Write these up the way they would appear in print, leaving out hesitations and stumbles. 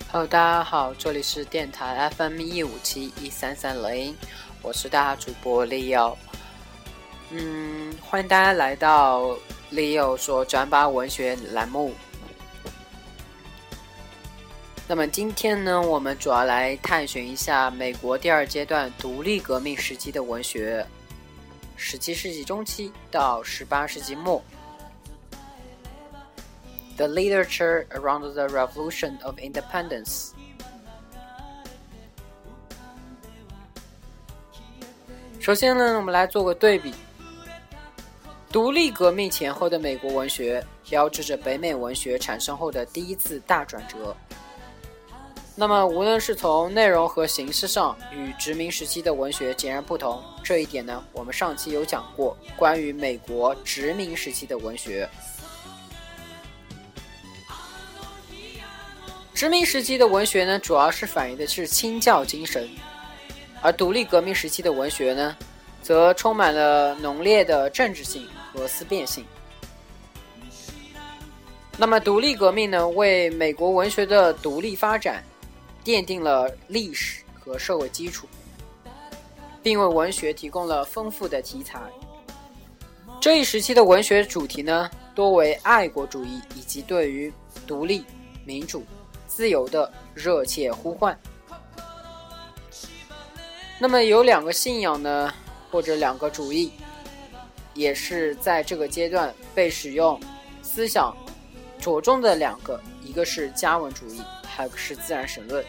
Hello， 大家好，这里是电台 FM1571330，我是大家主播 Leo。欢迎大家来到 Leo 说转把文学栏目。那么今天呢，我们主要来探寻一下美国第二阶段独立革命时期的文学，17世纪中期到18世纪末。The literature around the Revolution of Independence。 首先呢，我们来做个对比。独立革命前后的美国文学标志着北美文学产生后的第一次大转折。那么无论是从内容和形式上与殖民时期的文学截然不同，这一点呢，我们上期有讲过关于美国殖民时期的文学。殖民时期的文学呢，主要是反映的是清教精神，而独立革命时期的文学呢，则充满了浓烈的政治性和思辨性。那么独立革命呢，为美国文学的独立发展奠定了历史和社会基础，并为文学提供了丰富的题材。这一时期的文学主题呢，多为爱国主义以及对于独立、民主、自由的热切呼唤。那么有两个信仰呢，或者两个主义，也是在这个阶段被使用思想着重的两个，一个是加文主义，还有一个是自然神论。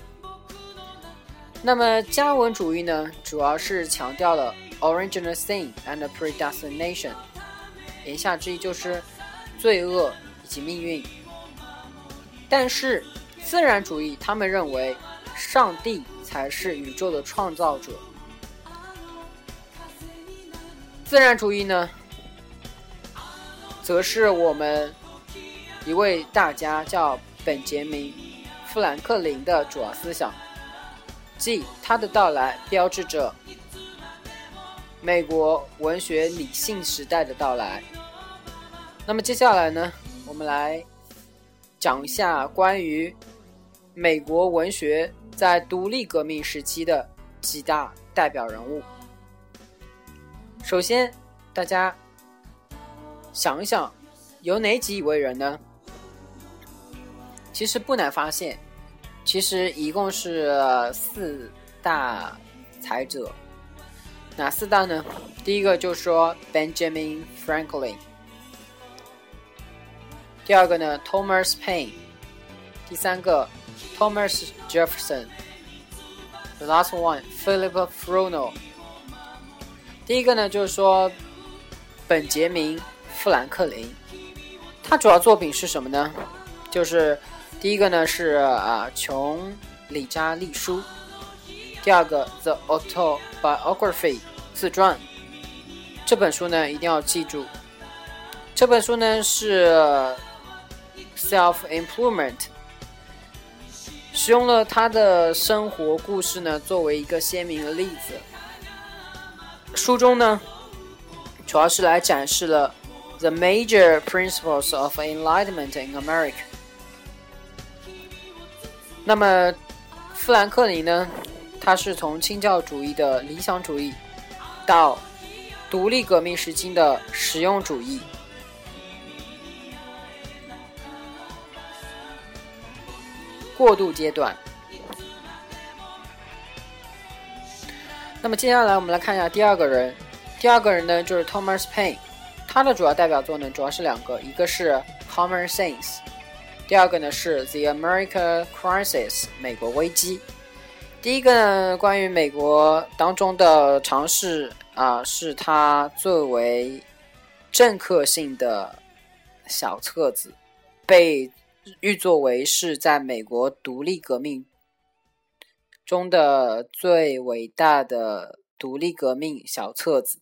那么加文主义呢，主要是强调了 original sin and predestination， 言下之意就是罪恶以及命运。但是自然主义他们认为上帝才是宇宙的创造者。自然主义呢，则是我们一位大家叫本杰明·富兰克林的主要思想，即他的到来标志着美国文学理性时代的到来。那么接下来呢，我们来讲一下关于美国文学在独立革命时期的几大代表人物。首先，大家想一想，有哪几位人呢？其实不难发现，其实一共是4大才者。哪4大呢？第一个就是说 Benjamin Franklin， 第二个呢 Thomas Paine， 第三个 Thomas Jefferson， The last one Philip Fresno。 第一个呢，就是说本杰明·富兰克林，他主要作品是什么呢？就是第一个呢是琼里扎利书，第二个 The Autobiography 自传。这本书呢一定要记住，这本书呢是 Self-Improvement， 使用了他的生活故事呢作为一个鲜明的例子。书中呢主要是来展示了 The Major Principles of Enlightenment in America。 那么富兰克林呢，他是从清教主义的理想主义到独立革命时期的实用主义。过渡阶段。那么接下来我们来看一下第二个人。第二个人呢就是 Thomas Paine， 他的主要代表作呢主要是两个，一个是 Common Sense， 第二个呢是 The American Crisis， 美国危机。第一个呢关于美国当中的尝试是他最为政客性的小册子，被誉作为是在美国独立革命中的最伟大的独立革命小册子。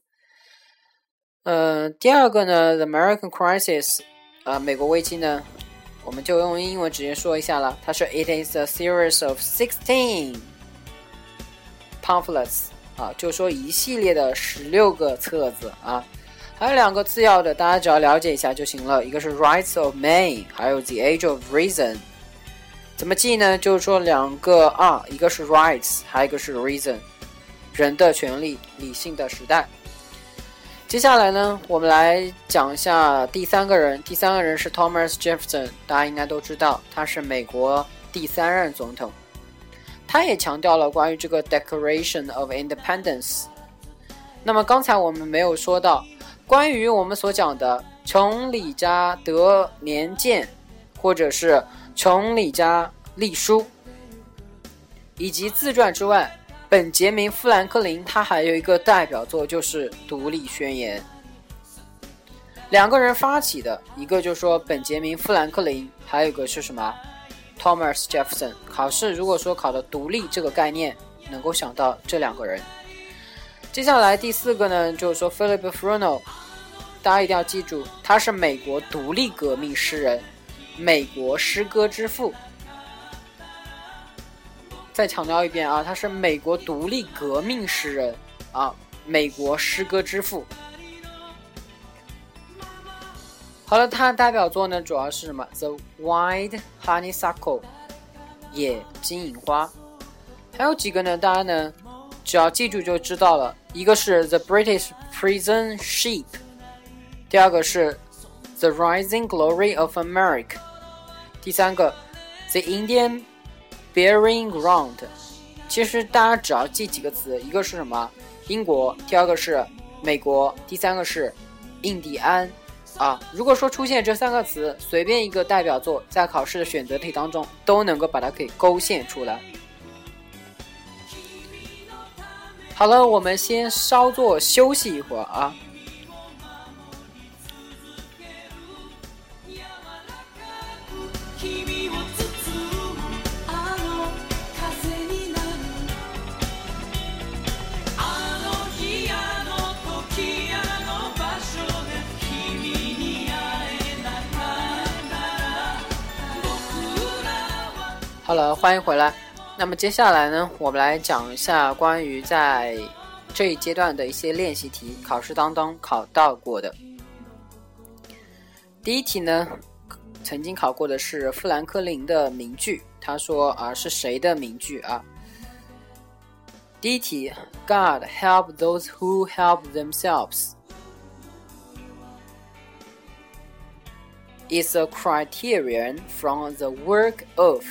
第二个呢 The American Crisis， 美国危机呢，我们就用英文直接说一下了，它是 It is a series of 16 pamphlets， 就是说一系列的16个册子啊。还有2个次要的，大家只要了解一下就行了，一个是 Rights of Man， 还有 The Age of Reason。 怎么记呢？就是说两个 R， 一个是 rights， 还有一个是 reason， 人的权利，理性的时代。接下来呢，我们来讲一下第三个人。第三个人是 Thomas Jefferson， 大家应该都知道，他是美国第3任总统。他也强调了关于这个 Declaration of Independence。那么刚才我们没有说到，关于我们所讲的琼理家德年鉴，或者是琼理家历书，以及自传之外，本杰明·富兰克林他还有一个代表作，就是《独立宣言》。两个人发起的，一个就是说本杰明·富兰克林，还有一个是什么 Thomas Jefferson。 考试如果说考的独立这个概念，能够想到这两个人。接下来第4个呢，就是说 Philip Freneau， 大家一定要记住，他是美国独立革命诗人，美国诗歌之父。再强调一遍啊，他是美国独立革命诗人啊，美国诗歌之父。好了，他的代表作呢主要是什么 ？The Wild Honeysuckle， 野金银花。还有几个呢？大家呢只要记住就知道了。一个是 The British Prison Ship， 第二个是 The Rising Glory of America， 第三个 The Indian Burying Ground。 其实大家只要记几个词，一个是什么？英国，第二个是美国，第三个是印第安啊。如果说出现这3个词，随便一个代表作在考试的选择题当中都能够把它给勾线出来。好了，我们先稍作休息一会儿啊。好了，欢迎回来。那么接下来呢，我们来讲一下关于在这一阶段的一些练习题，考试当中考到过的。第一题呢，曾经考过的是富兰克林的名句，他说啊，是谁的名句啊？第一题 ，God help those who help themselves is a criterion from the work of。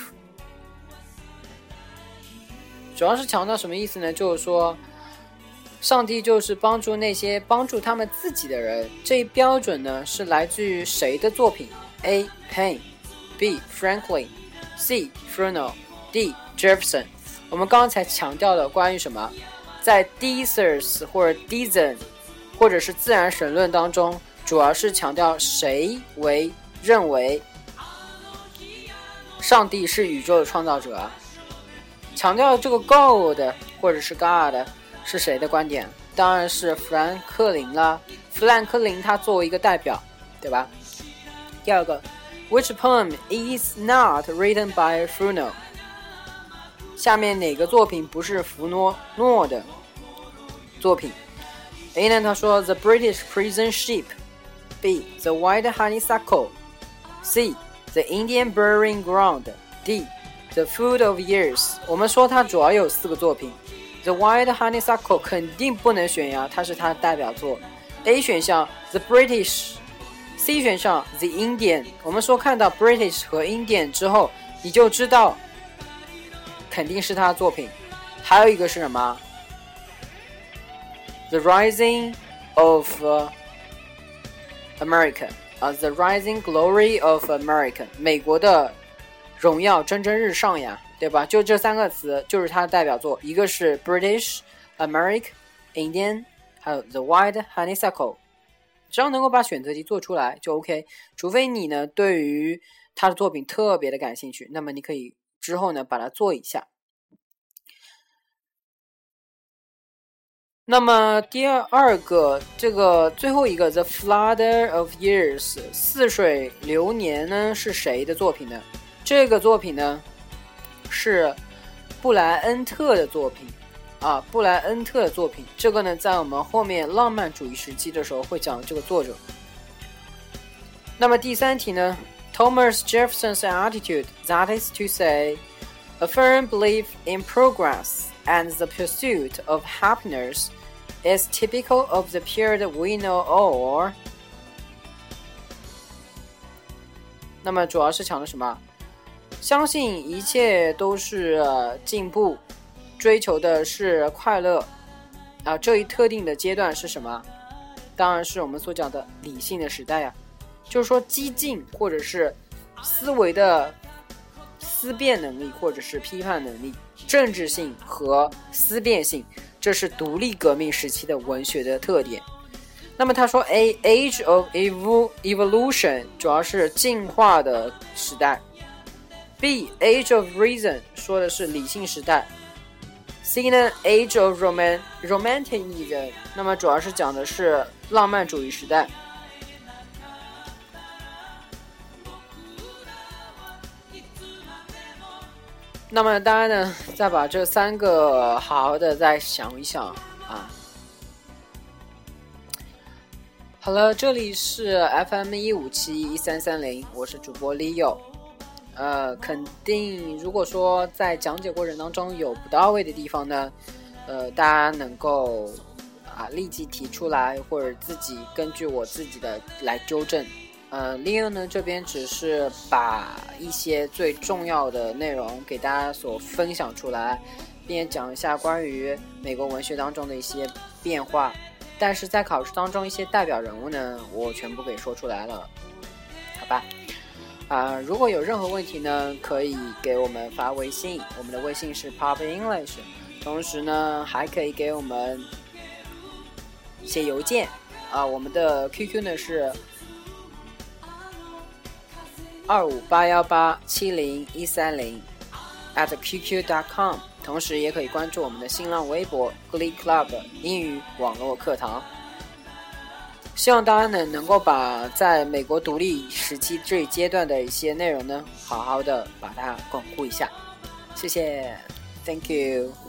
主要是强调什么意思呢？就是说上帝就是帮助那些帮助他们自己的人，这一标准呢是来自于谁的作品？ A. Paine， B. Franklin， C. Freneau， D. Jefferson。 我们刚才强调了关于什么？在 Thesis 或者 Deism 或者是自然神论当中，主要是强调谁为认为上帝是宇宙的创造者啊？强调这个 God 或者是 God 是谁的观点？当然是富兰克林啦。富兰克林他作为一个代表，对吧？第二个 Which poem is not written by Freneau？ 下面哪个作品不是弗诺诺的作品？ A 呢，他说 The British Prison Ship， B. The Wild Honeysuckle， C. The Indian Burying Ground， D. The Food of Years。 我们说它主要有4个作品， The Wild Honeysuckle 肯定不能选呀，它是它的代表作。 A 选项 The British， C 选项 The Indian。 我们说看到 British 和 Indian 之后，你就知道肯定是他的作品。还有一个是什么？ The Rising of America， The Rising Glory of America， 美国的荣耀蒸蒸日上呀，对吧？就这3个词就是它的代表作，一个是 British、American、Indian， 还有 The Wild Honeysuckle。 只要能够把选择题做出来就 OK， 除非你呢对于他的作品特别的感兴趣，那么你可以之后呢把它做一下。那么第二个，这个最后一个 The Flood of Years 似水流年呢是谁的作品呢？这个作品呢是布莱恩特的作品啊，布莱恩特的作品。这个呢在我们后面浪漫主义时期的时候会讲这个作者。那么第3题呢， Thomas Jefferson's attitude, that is to say, a firm belief in progress and the pursuit of happiness, is typical of the period we know all. 那么主要是讲的什么？相信一切都是进步，追求的是快乐这一特定的阶段是什么？当然是我们所讲的理性的时代呀，就是说激进或者是思维的思辨能力或者是批判能力，政治性和思辨性，这是独立革命时期的文学的特点。那么他说 A age of evolution 主要是进化的时代， B age of reason 说的是理性时代， C 呢 age of romanticism 那么主要是讲的是浪漫主义时代。那么大家呢再把这三个好好的再想一想好了，这里是 FM1571330，我是主播 Leo。肯定如果说在讲解过程当中有不到位的地方呢，大家能够立即提出来，或者自己根据我自己的来纠正。Leo 呢这边只是把一些最重要的内容给大家所分享出来，并讲一下关于美国文学当中的一些变化。但是在考试当中一些代表人物呢，我全部给说出来了，好吧？如果有任何问题呢，可以给我们发微信，我们的微信是 Pop English， 同时呢还可以给我们写邮件我们的 QQ 呢是2581870130130@qq.com， 同时也可以关注我们的新浪微博 Glee Club 英语网络课堂。希望大家能够把在美国独立时期这一阶段的一些内容呢，好好的把它巩固一下。谢谢 ，Thank you。